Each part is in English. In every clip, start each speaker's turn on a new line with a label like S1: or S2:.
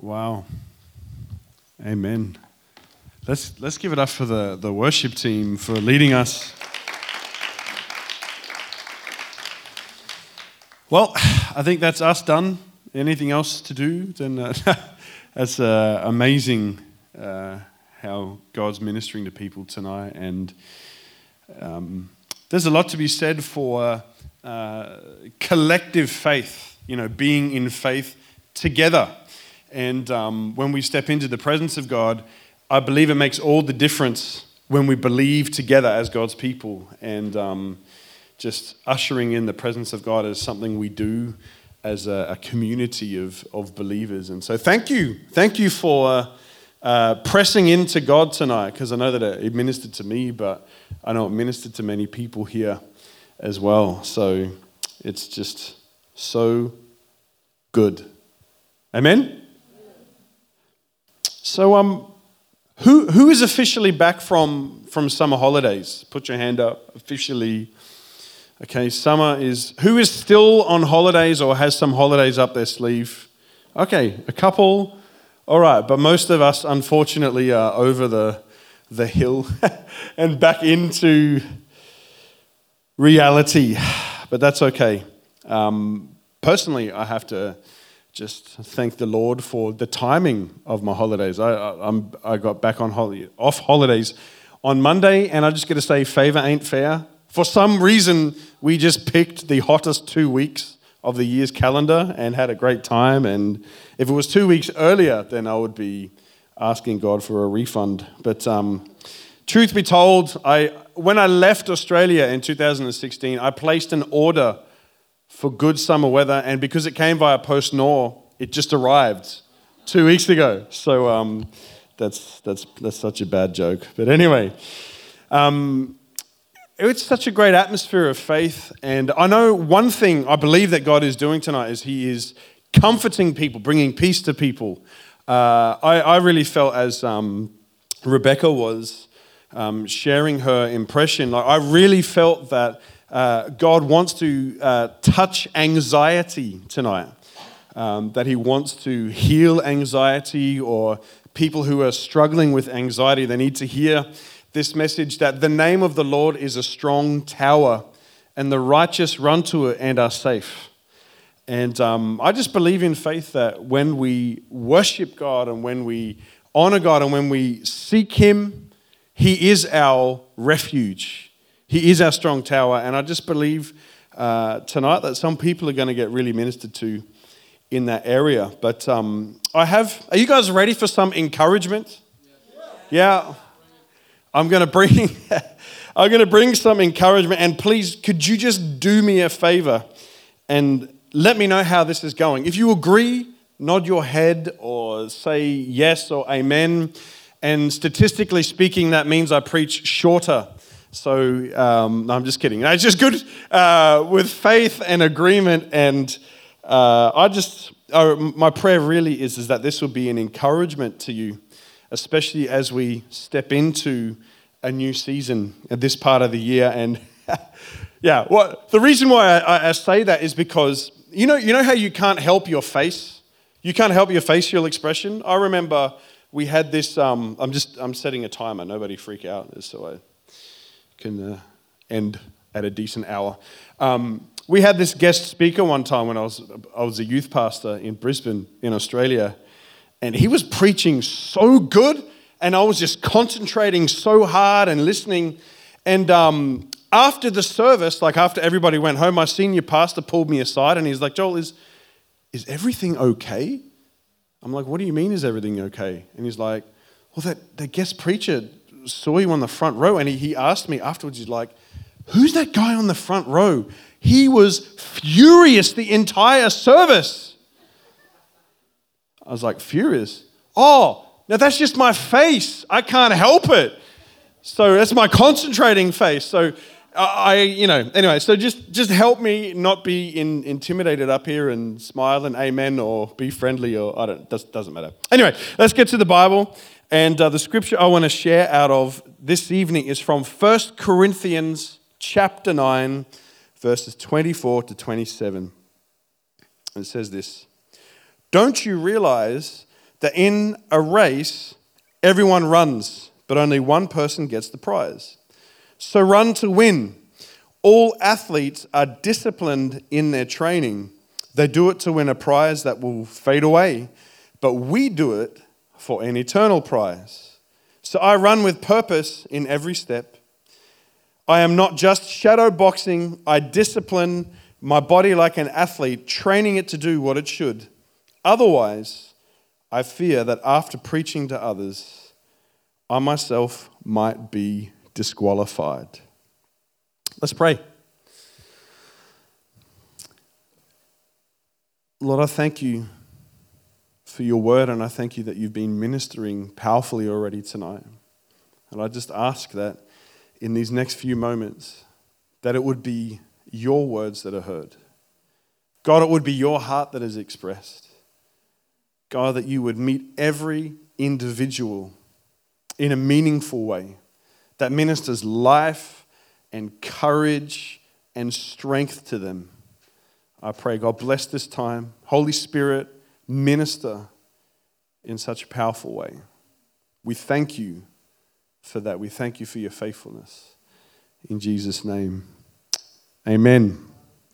S1: Wow. Amen. Let's give it up for the worship team for leading us. Well, I think that's us done. Anything else to do? Then that's amazing how God's ministering to people tonight. And there's a lot to be said for collective faith, being in faith together. And when we step into the presence of God, I believe it makes all the difference when we believe together as God's people. And just ushering in the presence of God is something we do as a community of believers. And so thank you for pressing into God tonight, because I know that it ministered to me, but I know it ministered to many people here as well. So it's just so good. Amen? So who is officially back from summer holidays? Put your hand up. Officially. Okay, who is still on holidays or has some holidays up their sleeve? Okay, a couple. All right, but most of us, unfortunately, are over the hill and back into reality. But that's okay. Personally, I have to just thank the Lord for the timing of my holidays. I got back off holidays on Monday, and I just got to say, favor ain't fair. For some reason, we just picked the hottest 2 weeks of the year's calendar and had a great time. And if it was 2 weeks earlier, then I would be asking God for a refund. But truth be told, when I left Australia in 2016, I placed an order for good summer weather, and because it came via PostNord, it just arrived 2 weeks ago. So that's such a bad joke. But anyway, it's such a great atmosphere of faith, and I know one thing I believe that God is doing tonight is He is comforting people, bringing peace to people. I really felt as Rebecca was sharing her impression, I really felt that God wants to touch anxiety tonight, that He wants to heal anxiety, or people who are struggling with anxiety, they need to hear this message that the name of the Lord is a strong tower and the righteous run to it and are safe. And I just believe in faith that when we worship God and when we honor God and when we seek Him, He is our refuge. He is our strong tower. And I just believe tonight that some people are going to get really ministered to in that area. But are you guys ready for some encouragement? Yeah. I'm going to bring some encouragement, and please, could you just do me a favor and let me know how this is going? If you agree, nod your head or say yes or amen. And statistically speaking, that means I preach shorter. So, no, I'm just kidding. It's just good with faith and agreement. And my prayer really is that this will be an encouragement to you, especially as we step into a new season at this part of the year. And the reason why I say that is because you know how you can't help your face? You can't help your facial expression. I remember we had this, I'm setting a timer, nobody freak out, just so I can end at a decent hour. We had this guest speaker one time when I was a youth pastor in Brisbane, in Australia, and he was preaching so good, and I was just concentrating so hard and listening. And after the service, after everybody went home, my senior pastor pulled me aside, and he's like, "Joel, is everything okay?" I'm like, "What do you mean, is everything okay?" And he's like, "Well, that guest preacher saw you on the front row," and he asked me afterwards, he's like, "Who's that guy on the front row? He was furious the entire service." I was like, "Furious? Oh, now that's just my face. I can't help it. So that's my concentrating face." So anyway, so just help me not be intimidated up here and smile and amen or be friendly or doesn't matter. Anyway, let's get to the Bible. And the scripture I want to share out of this evening is from 1 Corinthians chapter 9, verses 24 to 27. It says this: "Don't you realize that in a race, everyone runs, but only one person gets the prize. So run to win. All athletes are disciplined in their training. They do it to win a prize that will fade away, but we do it for an eternal prize. So I run with purpose in every step. I am not just shadow boxing. I discipline my body like an athlete, training it to do what it should. Otherwise, I fear that after preaching to others, I myself might be disqualified. Let's pray. Lord, I thank you for your word, and I thank you that you've been ministering powerfully already tonight. And I just ask that in these next few moments, that it would be your words that are heard. God, it would be your heart that is expressed. God, that you would meet every individual in a meaningful way that ministers life and courage and strength to them. I pray, God, bless this time. Holy Spirit, minister in such a powerful way. We thank you for that. We thank you for your faithfulness. In Jesus' name, amen.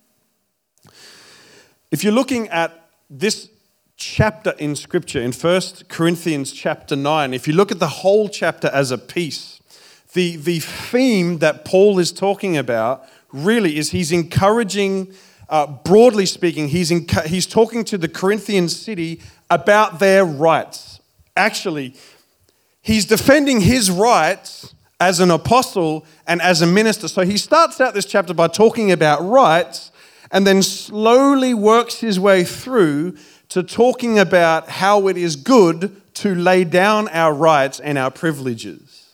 S1: If you're looking at this chapter in Scripture, in 1 Corinthians chapter 9, if you look at the whole chapter as a piece, the theme that Paul is talking about really is he's encouraging, broadly speaking, he's talking to the Corinthian city about their rights. Actually, he's defending his rights as an apostle and as a minister. So he starts out this chapter by talking about rights and then slowly works his way through to talking about how it is good to lay down our rights and our privileges.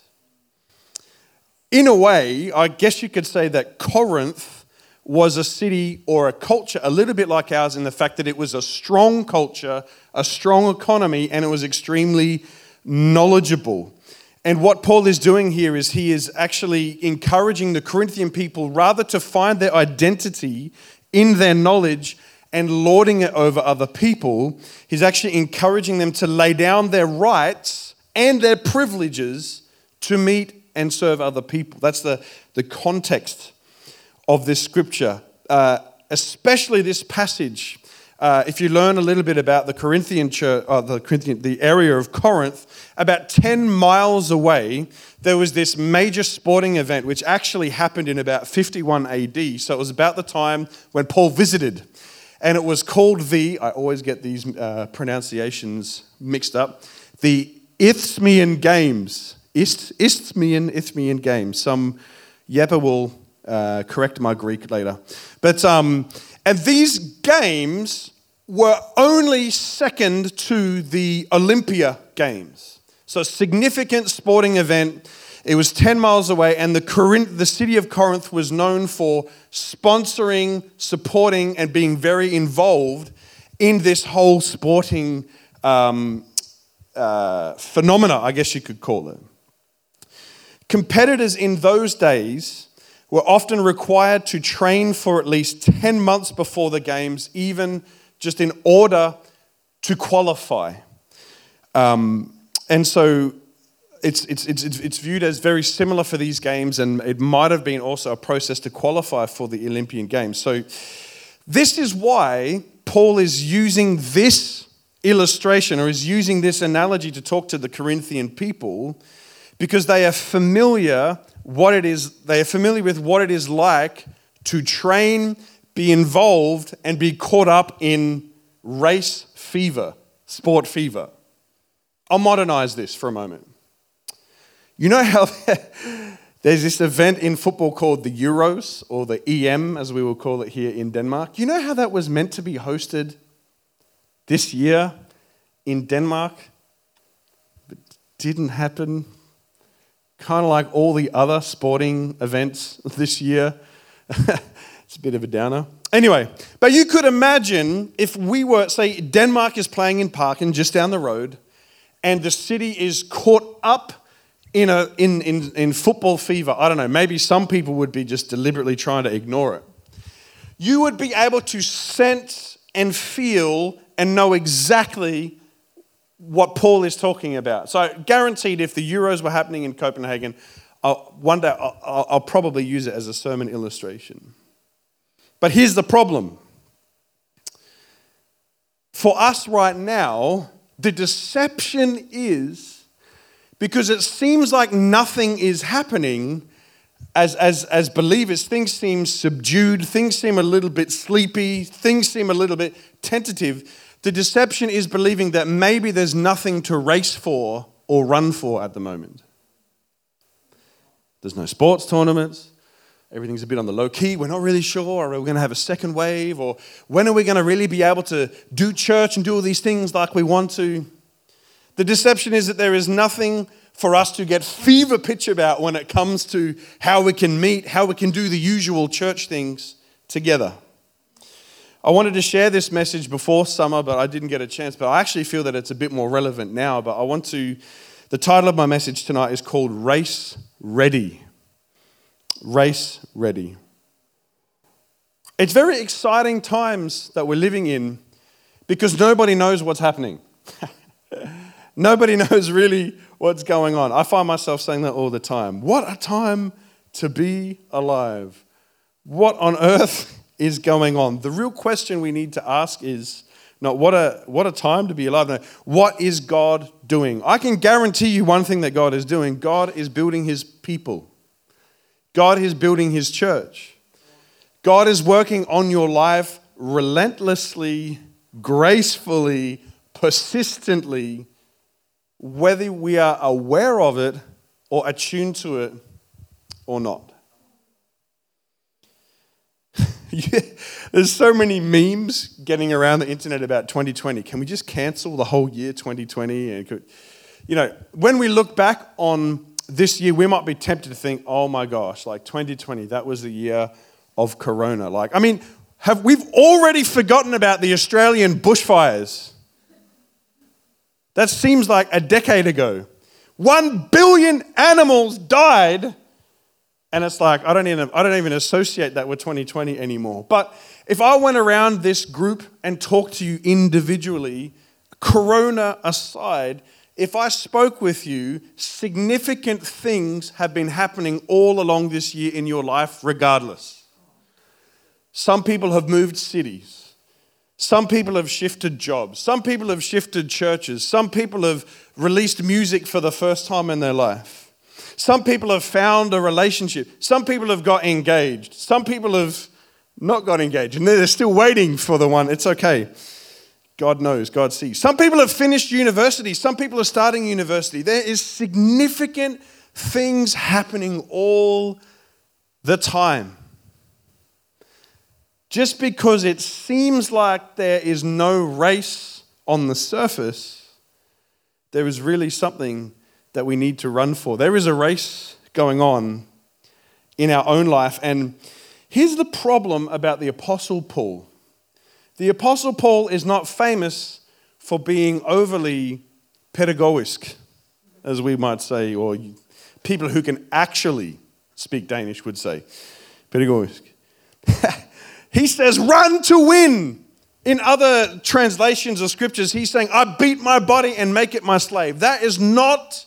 S1: In a way, I guess you could say that Corinth was a city or a culture a little bit like ours in the fact that it was a strong culture, a strong economy, and it was extremely knowledgeable. And what Paul is doing here is he is actually encouraging the Corinthian people rather to find their identity in their knowledge and lording it over other people. He's actually encouraging them to lay down their rights and their privileges to meet and serve other people. That's the context of this scripture, especially this passage. If you learn a little bit about the Corinthian church, the area of Corinth, about 10 miles away, there was this major sporting event which actually happened in about 51 AD. So it was about the time when Paul visited. And it was called I always get these pronunciations mixed up, the Isthmian Games. Isthmian Games. Some Yeppa will correct my Greek later. But and these games were only second to the Olympia Games. So a significant sporting event. It was 10 miles away, and the city of Corinth was known for sponsoring, supporting, and being very involved in this whole sporting phenomena, I guess you could call it. Competitors in those days were often required to train for at least 10 months before the games, even just in order to qualify. And so it's viewed as very similar for these games, and it might have been also a process to qualify for the Olympian Games. So this is why Paul is using this illustration or is using this analogy to talk to the Corinthian people, because they are familiar with what it is like to train, be involved, and be caught up in race fever, sport fever. I'll modernize this for a moment. You know how there's this event in football called the Euros, or the EM, as we will call it here in Denmark? You know how that was meant to be hosted this year in Denmark, but didn't happen? Kind of like all the other sporting events this year. It's a bit of a downer. Anyway, but you could imagine if we were, say, Denmark is playing in Parken just down the road, and the city is caught up in football fever. I don't know, maybe some people would be just deliberately trying to ignore it. You would be able to sense and feel and know exactly what Paul is talking about. So guaranteed if the Euros were happening in Copenhagen, one day I'll probably use it as a sermon illustration. But here's the problem. For us right now, the deception is, because it seems like nothing is happening, as believers, things seem subdued, things seem a little bit sleepy, things seem a little bit tentative. The deception is believing that maybe there's nothing to race for or run for at the moment. There's no sports tournaments. Everything's a bit on the low key. We're not really sure. Are we going to have a second wave? Or when are we going to really be able to do church and do all these things like we want to? The deception is that there is nothing for us to get fever pitch about when it comes to how we can meet, how we can do the usual church things together. I wanted to share this message before summer, but I didn't get a chance. But I actually feel that it's a bit more relevant now. But the title of my message tonight is called Race Ready. Race Ready. It's very exciting times that we're living in because nobody knows what's happening. Nobody knows really what's going on. I find myself saying that all the time. What a time to be alive. What on earth is going on? The real question we need to ask is not what a time to be alive. No, what is God doing? I can guarantee you one thing that God is doing. God is building his people. God is building his church. God is working on your life relentlessly, gracefully, persistently, whether we are aware of it or attuned to it or not. There's so many memes getting around the internet about 2020. Can we just cancel the whole year 2020? And when we look back on this year, we might be tempted to think, oh my gosh, like 2020, that was the year of Corona. We've already forgotten about the Australian bushfires? That seems like a decade ago. 1 billion animals died, and it's like I don't even associate that with 2020 anymore. But if I went around this group and talked to you individually, Corona aside, if I spoke with you, significant things have been happening all along this year in your life regardless. Some people have moved cities. Some people have shifted jobs. Some people have shifted churches. Some people have released music for the first time in their life. Some people have found a relationship. Some people have got engaged. Some people have not got engaged. And they're still waiting for the one. It's okay. God knows. God sees. Some people have finished university. Some people are starting university. There is significant things happening all the time. Just because it seems like there is no race on the surface, there is really something that we need to run for. There is a race going on in our own life. And here's the problem about the Apostle Paul. The Apostle Paul is not famous for being overly pedagogisk, as we might say, or people who can actually speak Danish would say. Pedagogisk. He says, run to win. In other translations of scriptures, he's saying, I beat my body and make it my slave. That is not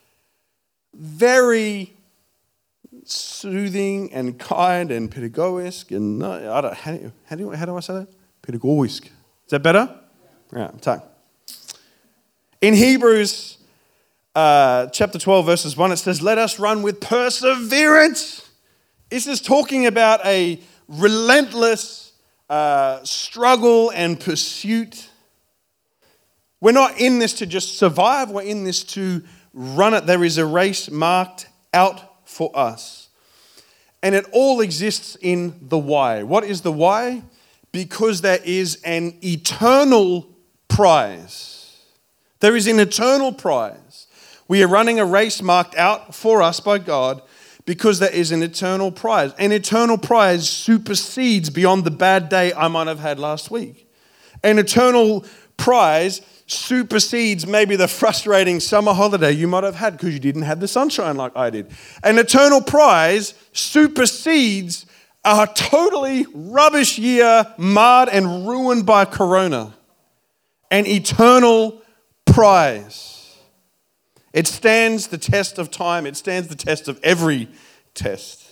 S1: very soothing and kind and pedagogisk. And how do I say that? Pedagogisk. Is that better? Yeah, take. In Hebrews chapter 12, verses 1, it says, let us run with perseverance. This is talking about a relentless struggle and pursuit. We're not in this to just survive. We're in this to run it. There is a race marked out for us. And it all exists in the why. What is the why? Because there is an eternal prize. There is an eternal prize. We are running a race marked out for us by God because there is an eternal prize. An eternal prize supersedes beyond the bad day I might have had last week. An eternal prize supersedes maybe the frustrating summer holiday you might have had because you didn't have the sunshine like I did. An eternal prize supersedes a totally rubbish year marred and ruined by Corona. An eternal prize. It stands the test of time. It stands the test of every test.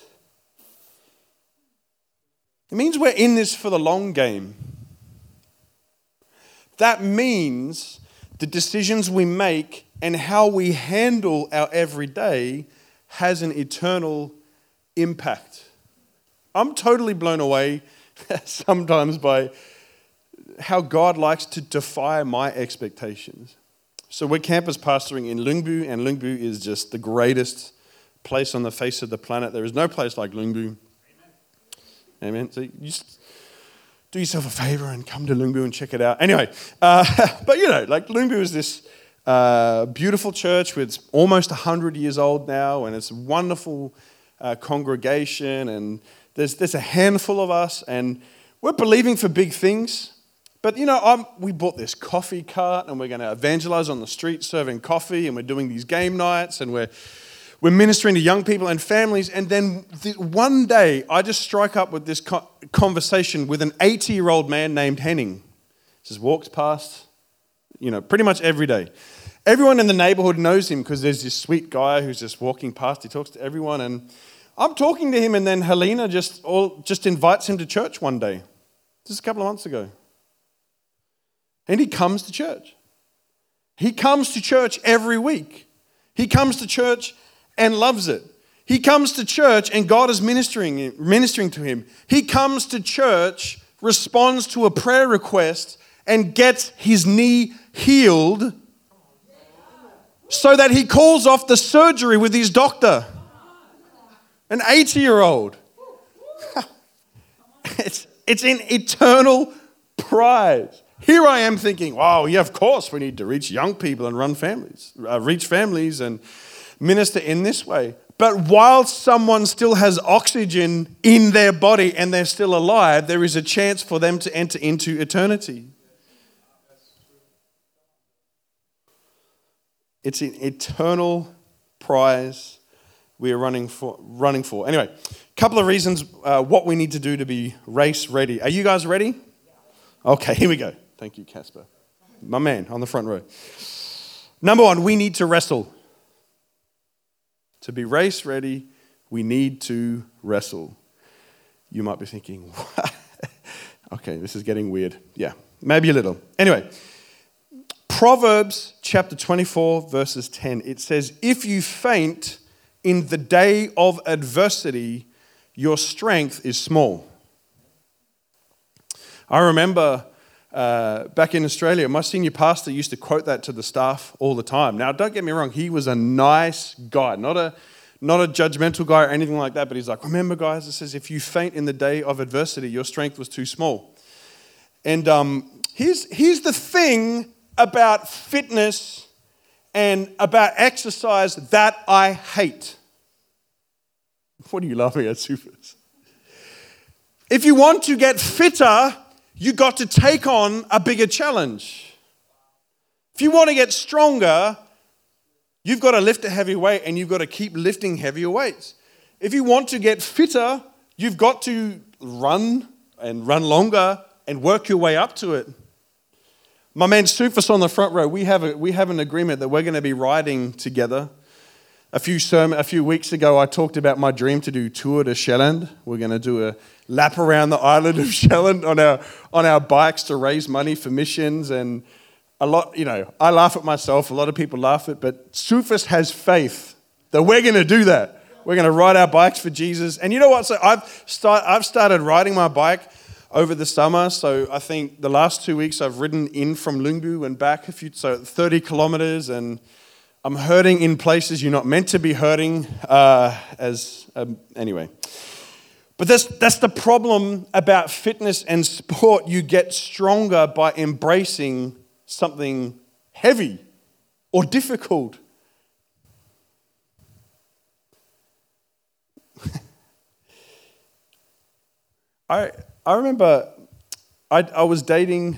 S1: It means we're in this for the long game. That means the decisions we make and how we handle our everyday has an eternal impact. I'm totally blown away sometimes by how God likes to defy my expectations. So we're campus pastoring in Lyngby, and Lyngby is just the greatest place on the face of the planet. There is no place like Lyngby. Amen. So you just do yourself a favor and come to Lyngby and check it out. Anyway, but like Lyngby is this beautiful church with almost 100 years old now, and it's a wonderful congregation, and there's a handful of us, and we're believing for big things. But we bought this coffee cart, and we're going to evangelize on the street serving coffee, and we're doing these game nights, and we're ministering to young people and families. And then one day, I just strike up with this conversation with an 80-year-old man named Henning. Just walks past, pretty much every day. Everyone in the neighborhood knows him because there's this sweet guy who's just walking past. He talks to everyone, and I'm talking to him, and then Helena just invites him to church one day, just a couple of months ago. And he comes to church. He comes to church every week. He comes to church and loves it. He comes to church and God is ministering to him. He comes to church, responds to a prayer request, and gets his knee healed so that he calls off the surgery with his doctor. An 80-year-old. It's an eternal prize. Here I am thinking, wow, yeah, of course we need to reach young people and reach families and minister in this way. But while someone still has oxygen in their body and they're still alive, there is a chance for them to enter into eternity. It's an eternal prize we are running for. Anyway, a couple of reasons what we need to do to be race ready. Are you guys ready? Okay, here we go. Thank you, Casper. My man on the front row. Number one, we need to wrestle. To be race ready, we need to wrestle. You might be thinking, what? Okay, this is getting weird. Yeah, maybe a little. Anyway, Proverbs chapter 24, verses 10, it says, if you faint in the day of adversity, your strength is small. I remember back in Australia, my senior pastor used to quote that to the staff all the time. Now, don't get me wrong, he was a nice guy, not a judgmental guy or anything like that, but he's like, remember guys, it says, if you faint in the day of adversity, your strength was too small. And here's the thing about fitness and about exercise that I hate. What are you laughing at, Sufis? If you want to get fitter, you got to take on a bigger challenge. If you want to get stronger, you've got to lift a heavy weight and you've got to keep lifting heavier weights. If you want to get fitter, you've got to run and run longer and work your way up to it. My man Sufis on the front row, we have an agreement that we're going to be riding together. A few weeks ago, I talked about my dream to do Tour de Sjælland. We're going to do a lap around the island of Sjælland on our bikes to raise money for missions. And a lot, I laugh at myself. A lot of people laugh at it, but Sufis has faith that we're going to do that. We're going to ride our bikes for Jesus. And you know what? So I've started riding my bike over the summer. So I think the last 2 weeks I've ridden in from Lyngby and back 30 kilometers, and I'm hurting in places you're not meant to be hurting. Anyway, but that's the problem about fitness and sport. You get stronger by embracing something heavy or difficult. I remember I was dating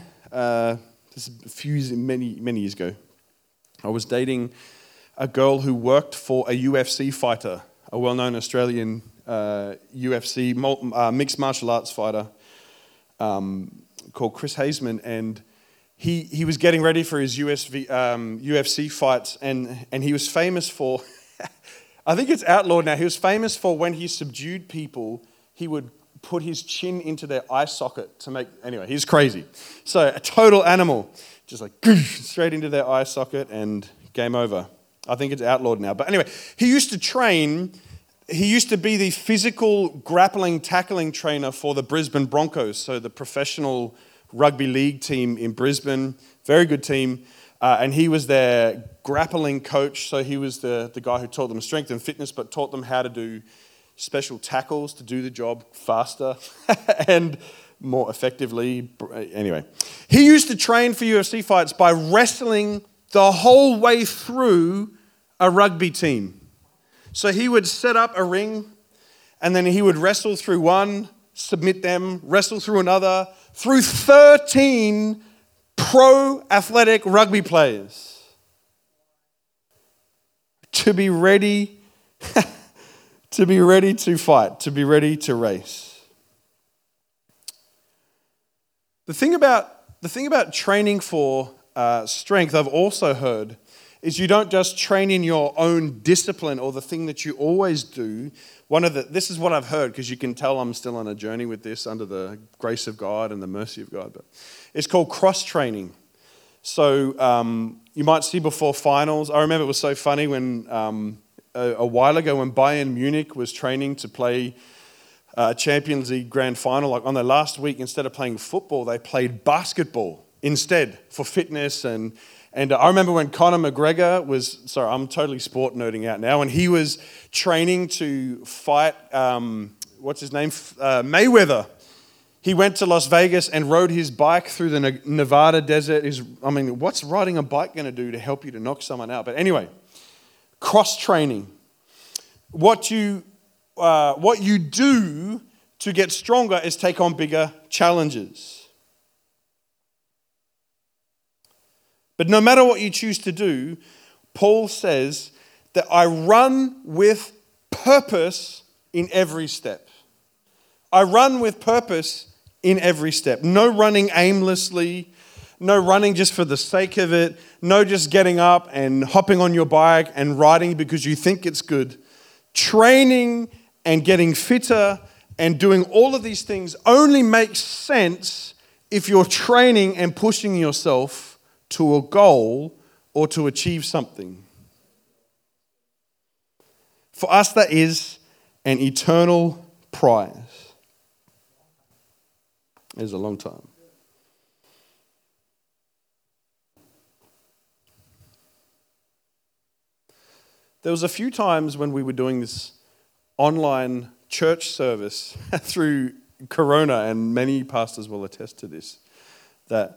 S1: many years ago. I was dating a girl who worked for a UFC fighter, a well-known Australian UFC mixed martial arts fighter called Chris Hazeman, and he was getting ready for his UFC fights, and he was famous for, I think it's outlawed now, he was famous for when he subdued people, he would put his chin into their eye socket to make, anyway, he's crazy. So a total animal, just like straight into their eye socket and game over. I think it's outlawed now. But anyway, he used to train, he used to be the physical grappling, tackling trainer for the Brisbane Broncos, so the professional rugby league team in Brisbane, very good team. And he was their grappling coach, so he was the guy who taught them strength and fitness, but taught them how to do special tackles to do the job faster and more effectively. Anyway, he used to train for UFC fights by wrestling the whole way through a rugby team. So he would set up a ring, and then he would wrestle through one, submit them, wrestle through another, through 13 pro athletic rugby players to be ready to be ready to fight, to be ready to race. The thing about training for strength, I've also heard, is you don't just train in your own discipline or the thing that you always do. This is what I've heard, because you can tell I'm still on a journey with this under the grace of God and the mercy of God. But it's called cross-training. So you might see before finals. I remember it was so funny when a while ago when Bayern Munich was training to play Champions League grand final, like on their last week, instead of playing football, they played basketball instead for fitness. And I remember when Conor McGregor was, sorry, I'm totally sport nerding out now, when he was training to fight, what's his name, Mayweather. He went to Las Vegas and rode his bike through the Nevada desert. What's riding a bike going to do to help you to knock someone out? But anyway, cross-training. What you do to get stronger is take on bigger challenges. But no matter what you choose to do, Paul says that I run with purpose in every step. I run with purpose in every step. No running aimlessly, no running just for the sake of it, no just getting up and hopping on your bike and riding because you think it's good. Training and getting fitter and doing all of these things only makes sense if you're training and pushing yourself to a goal or to achieve something. For us, that is an eternal prize. It is a long time. There was a few times when we were doing this online church service through Corona, and many pastors will attest to this, that,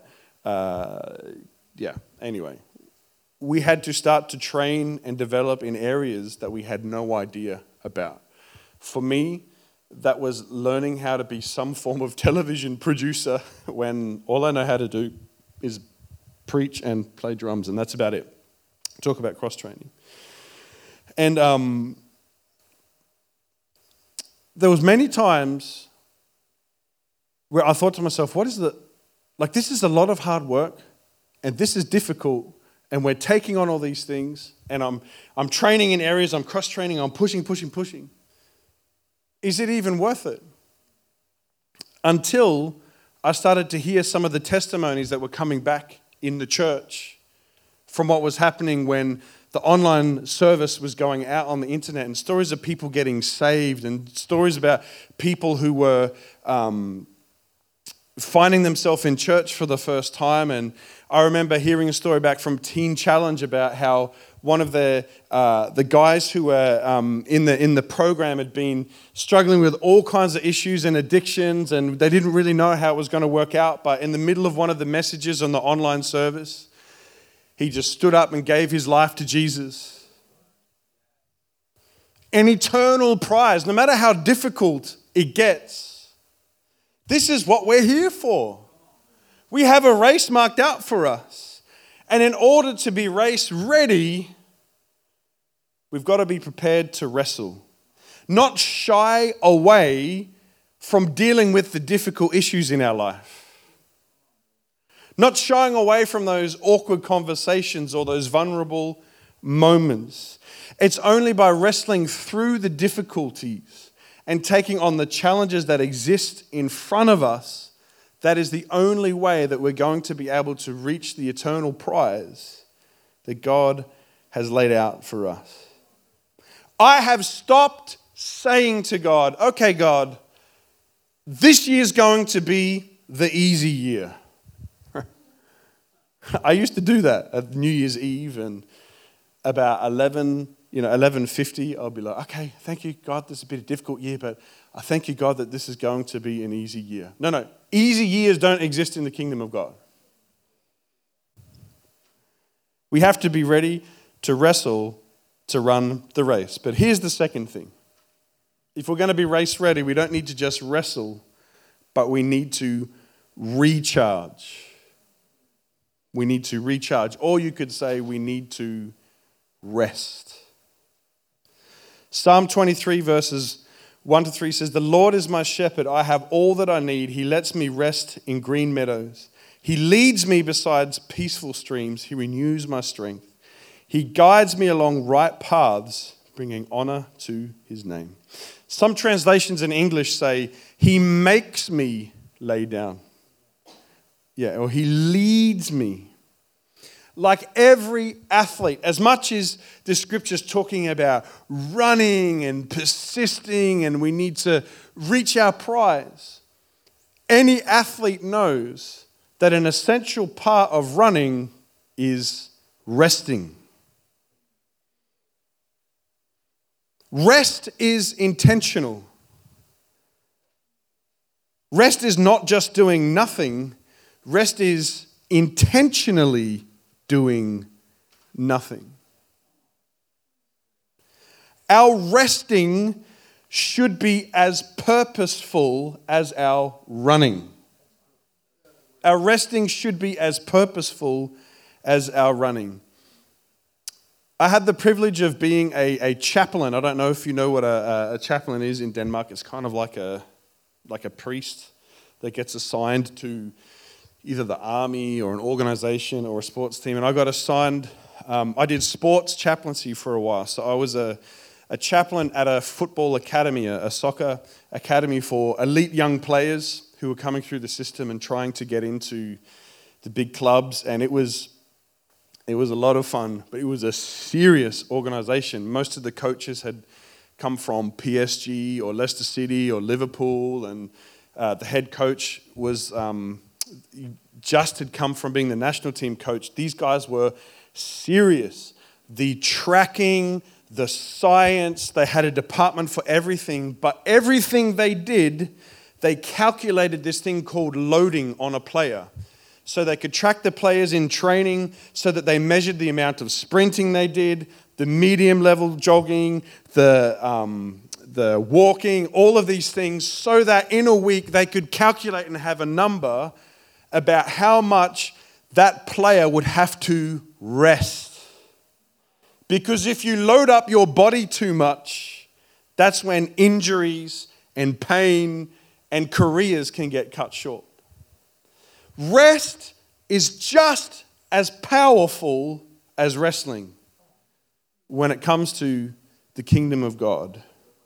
S1: anyway, we had to start to train and develop in areas that we had no idea about. For me, that was learning how to be some form of television producer when all I know how to do is preach and play drums, and that's about it. Talk about cross-training. And there was many times where I thought to myself, this is a lot of hard work, and this is difficult, and we're taking on all these things, and I'm training in areas, I'm cross-training, I'm pushing. Is it even worth it? Until I started to hear some of the testimonies that were coming back in the church from what was happening when the online service was going out on the internet, and stories of people getting saved, and stories about people who were finding themselves in church for the first time. And I remember hearing a story back from Teen Challenge about how one of the guys who were in the program had been struggling with all kinds of issues and addictions, and they didn't really know how it was going to work out. But in the middle of one of the messages on the online service, he just stood up and gave his life to Jesus. An eternal prize, no matter how difficult it gets. This is what we're here for. We have a race marked out for us. And in order to be race ready, we've got to be prepared to wrestle. Not shy away from dealing with the difficult issues in our life. not shying away from those awkward conversations or those vulnerable moments. It's only by wrestling through the difficulties and taking on the challenges that exist in front of us that is the only way that we're going to be able to reach the eternal prize that God has laid out for us. I have stopped saying to God, okay, God, this year's going to be the easy year. I used to do that at New Year's Eve, and about 11:50, I'll be like, okay, thank you, God, this has been a difficult year, but I thank you, God, that this is going to be an easy year. No, easy years don't exist in the kingdom of God. We have to be ready to wrestle to run the race. But here's the second thing. If we're going to be race ready, we don't need to just wrestle, but we need to recharge. We need to recharge. Or you could say we need to rest. Psalm 23 verses 1-3 says, "The Lord is my shepherd. I have all that I need. He lets me rest in green meadows. He leads me beside peaceful streams. He renews my strength. He guides me along right paths, bringing honor to his name." Some translations in English say, he makes me lay down. Or he leads me. Like every athlete, as much as the scripture's talking about running and persisting and we need to reach our prize, any athlete knows that an essential part of running is resting. Rest is intentional. Rest is not just doing nothing. Rest is intentionally doing nothing. Our resting should be as purposeful as our running. Our resting should be as purposeful as our running. I had the privilege of being a chaplain. I don't know if you know what a chaplain is in Denmark. It's kind of like a priest that gets assigned to either the army or an organization or a sports team. And I got assigned, I did sports chaplaincy for a while. So I was a chaplain at a football academy, a soccer academy for elite young players who were coming through the system and trying to get into the big clubs. And it was a lot of fun, but it was a serious organization. Most of the coaches had come from PSG or Leicester City or Liverpool, and the head coach was just had come from being the national team coach. These guys were serious. The tracking, the science, they had a department for everything, but everything they did, they calculated this thing called loading on a player. So they could track the players in training, so that they measured the amount of sprinting they did, the medium level jogging, the walking, all of these things, so that in a week they could calculate and have a number about how much that player would have to rest. Because if you load up your body too much, that's when injuries and pain and careers can get cut short. Rest is just as powerful as wrestling when it comes to the kingdom of God.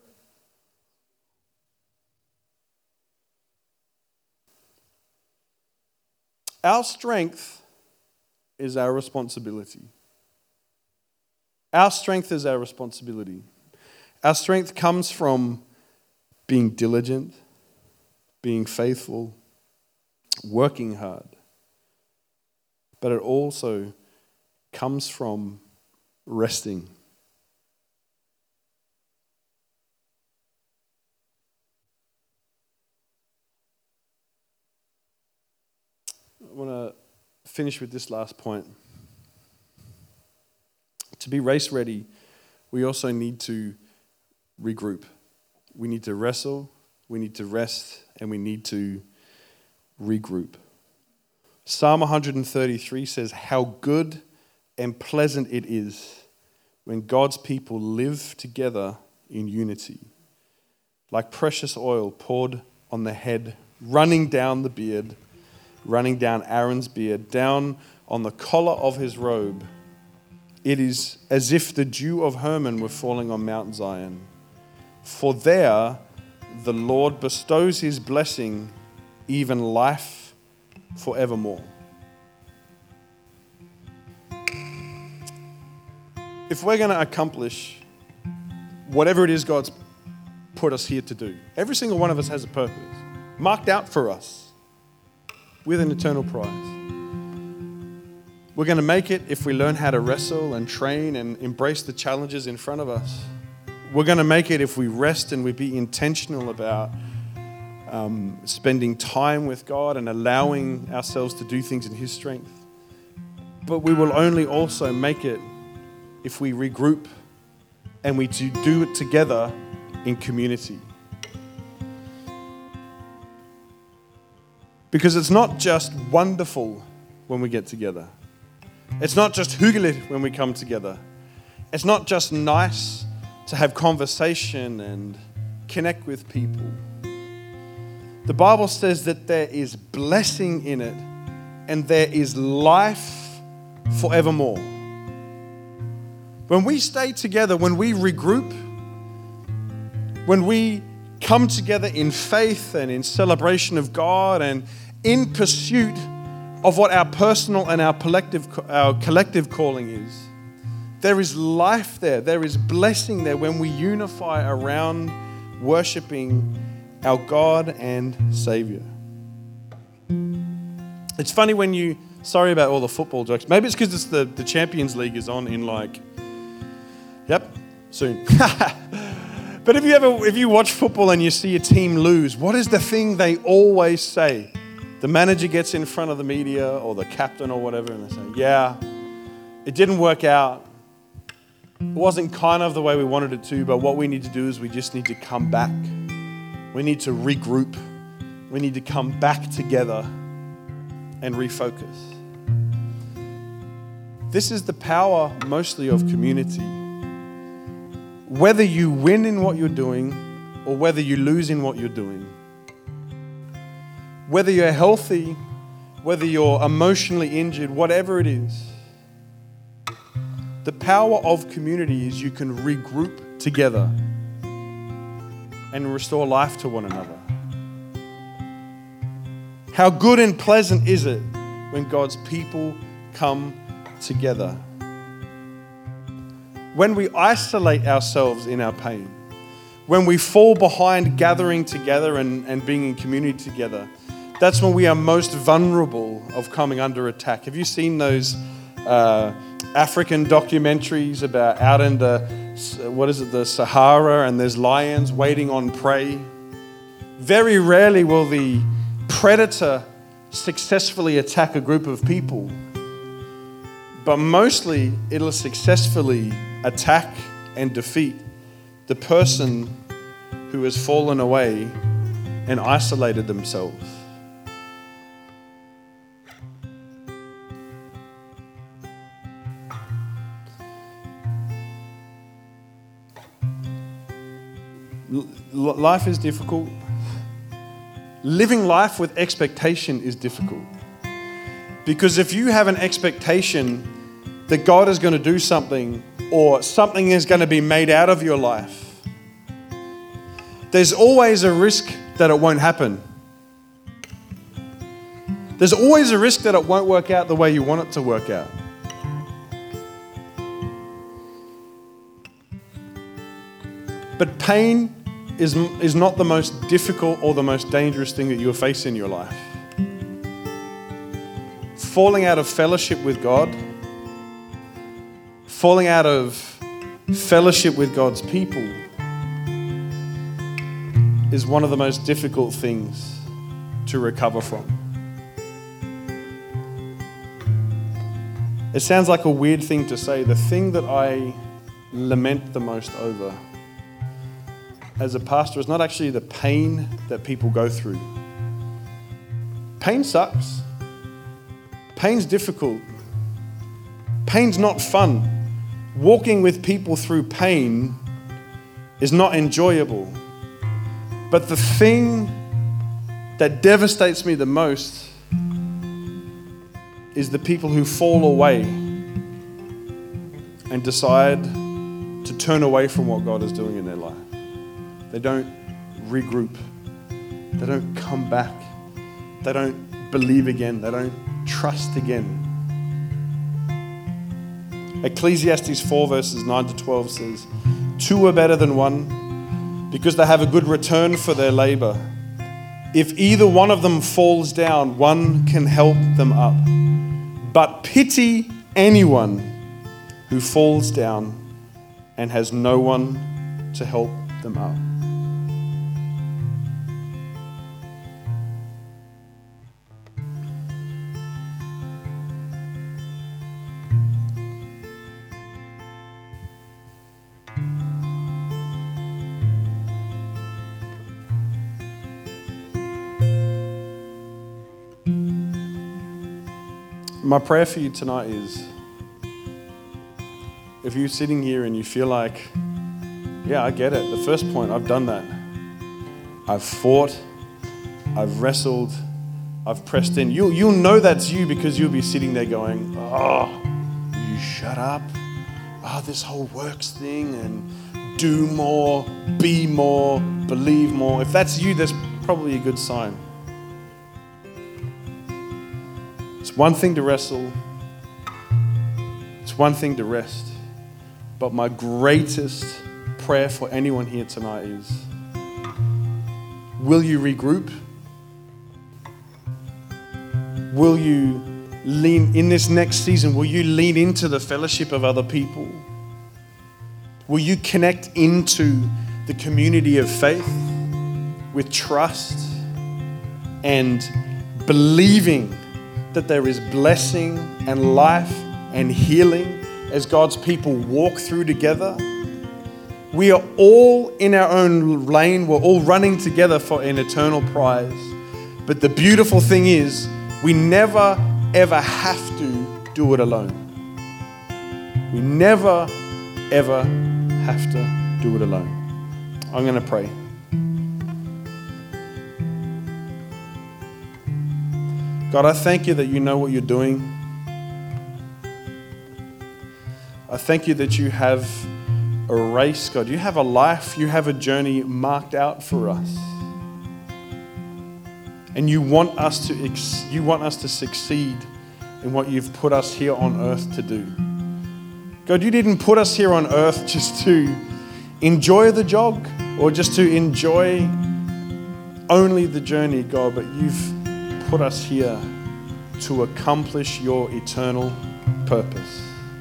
S1: Our strength is our responsibility. Our strength is our responsibility. Our strength comes from being diligent, being faithful, working hard. But it also comes from resting. I want to finish with this last point. To be race ready, we also need to regroup. We need to wrestle, we need to rest, and we need to regroup. Psalm 133 says, "How good and pleasant it is when God's people live together in unity, like precious oil poured on the head, running down the beard, running down Aaron's beard, down on the collar of his robe. It is as if the dew of Hermon were falling on Mount Zion. For there the Lord bestows his blessing, even life forevermore. If we're going to accomplish whatever it is God's put us here to do, every single one of us has a purpose, marked out for us with an eternal prize. We're going to make it if we learn how to wrestle and train and embrace the challenges in front of us. We're going to make it if we rest and we be intentional about spending time with God and allowing ourselves to do things in his strength. But we will only also make it if we regroup and we do it together in community. Because it's not just wonderful when we get together. It's not just hyggeligt when we come together. It's not just nice to have conversation and connect with people. The Bible says that there is blessing in it and there is life forevermore. When we stay together, when we regroup, when we come together in faith and in celebration of God and in pursuit of what our personal and our collective calling is, there is life there. There is blessing there when we unify around worshiping our God and Savior. It's funny when you, sorry about all the football jokes, maybe it's because the Champions League is on in soon. But if you watch football and you see a team lose, what is the thing they always say? The manager gets in front of the media or the captain or whatever and they say, yeah, it didn't work out. It wasn't kind of the way we wanted it to, but what we need to do is we just need to come back. We need to regroup. We need to come back together and refocus. This is the power mostly of community. Whether you win in what you're doing or whether you lose in what you're doing, whether you're healthy, whether you're emotionally injured, whatever it is, the power of community is you can regroup together and restore life to one another. How good and pleasant is it when God's people come together? When we isolate ourselves in our pain, when we fall behind gathering together and being in community together, that's when we are most vulnerable of coming under attack. Have you seen those African documentaries about out in the Sahara, and there's lions waiting on prey? Very rarely will the predator successfully attack a group of people, but mostly it'll successfully attack and defeat the person who has fallen away and isolated themselves. Life is difficult. Living life with expectation is difficult. Because if you have an expectation that God is going to do something or something is going to be made out of your life, there's always a risk that it won't happen. There's always a risk that it won't work out the way you want it to work out. But pain is not the most difficult or the most dangerous thing that you'll face in your life. Falling out of fellowship with God, falling out of fellowship with God's people is one of the most difficult things to recover from. It sounds like a weird thing to say. The thing that I lament the most over as a pastor is not actually the pain that people go through. Pain sucks. Pain's difficult. Pain's not fun. Walking with people through pain is not enjoyable. But the thing that devastates me the most is the people who fall away and decide to turn away from what God is doing in their life. They don't regroup. They don't come back. They don't believe again. They don't trust again. Ecclesiastes 4 verses 9 to 12 says, 2 are better than 1 because they have a good return for their labor. If either one of them falls down, one can help them up. But pity anyone who falls down and has no one to help them up. My prayer for you tonight is, if you're sitting here and you feel like, yeah, I get it. The first point, I've done that. I've fought, I've wrestled, I've pressed in. You'll know that's you because you'll be sitting there going, oh, you shut up. Oh, this whole works thing and do more, be more, believe more. If that's you, that's probably a good sign. It's one thing to wrestle. It's one thing to rest. But my greatest prayer for anyone here tonight is, will you regroup? Will you lean, in this next season, will you lean into the fellowship of other people? Will you connect into the community of faith with trust and believing that there is blessing and life and healing as God's people walk through together? We are all in our own lane. We're all running together for an eternal prize. But the beautiful thing is, we never, ever have to do it alone. We never, ever have to do it alone. I'm going to pray. God, I thank you that you know what you're doing. I thank you that you have a race, God. You have a life, you have a journey marked out for us. And you want us to succeed in what you've put us here on earth to do. God, you didn't put us here on earth just to enjoy the jog or just to enjoy only the journey, God, but you've put us here to accomplish your eternal purpose.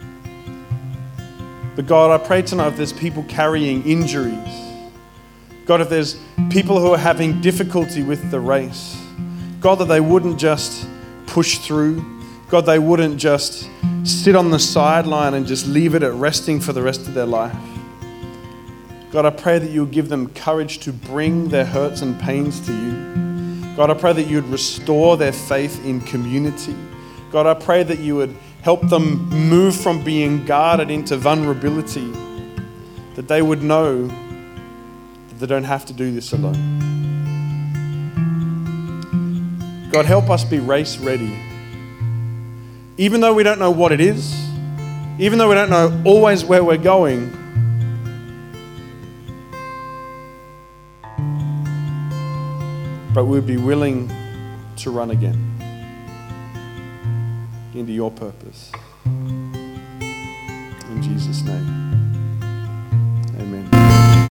S1: But God, I pray tonight if there's people carrying injuries, God, if there's people who are having difficulty with the race, God, that they wouldn't just push through, God, they wouldn't just sit on the sideline and just leave it at resting for the rest of their life. God, I pray that you'll give them courage to bring their hurts and pains to you. God, I pray that you would restore their faith in community. God, I pray that you would help them move from being guarded into vulnerability, that they would know that they don't have to do this alone. God, help us be race ready. Even though we don't know what it is, even though we don't know always where we're going, but we'd be willing to run again into your purpose. In Jesus' name.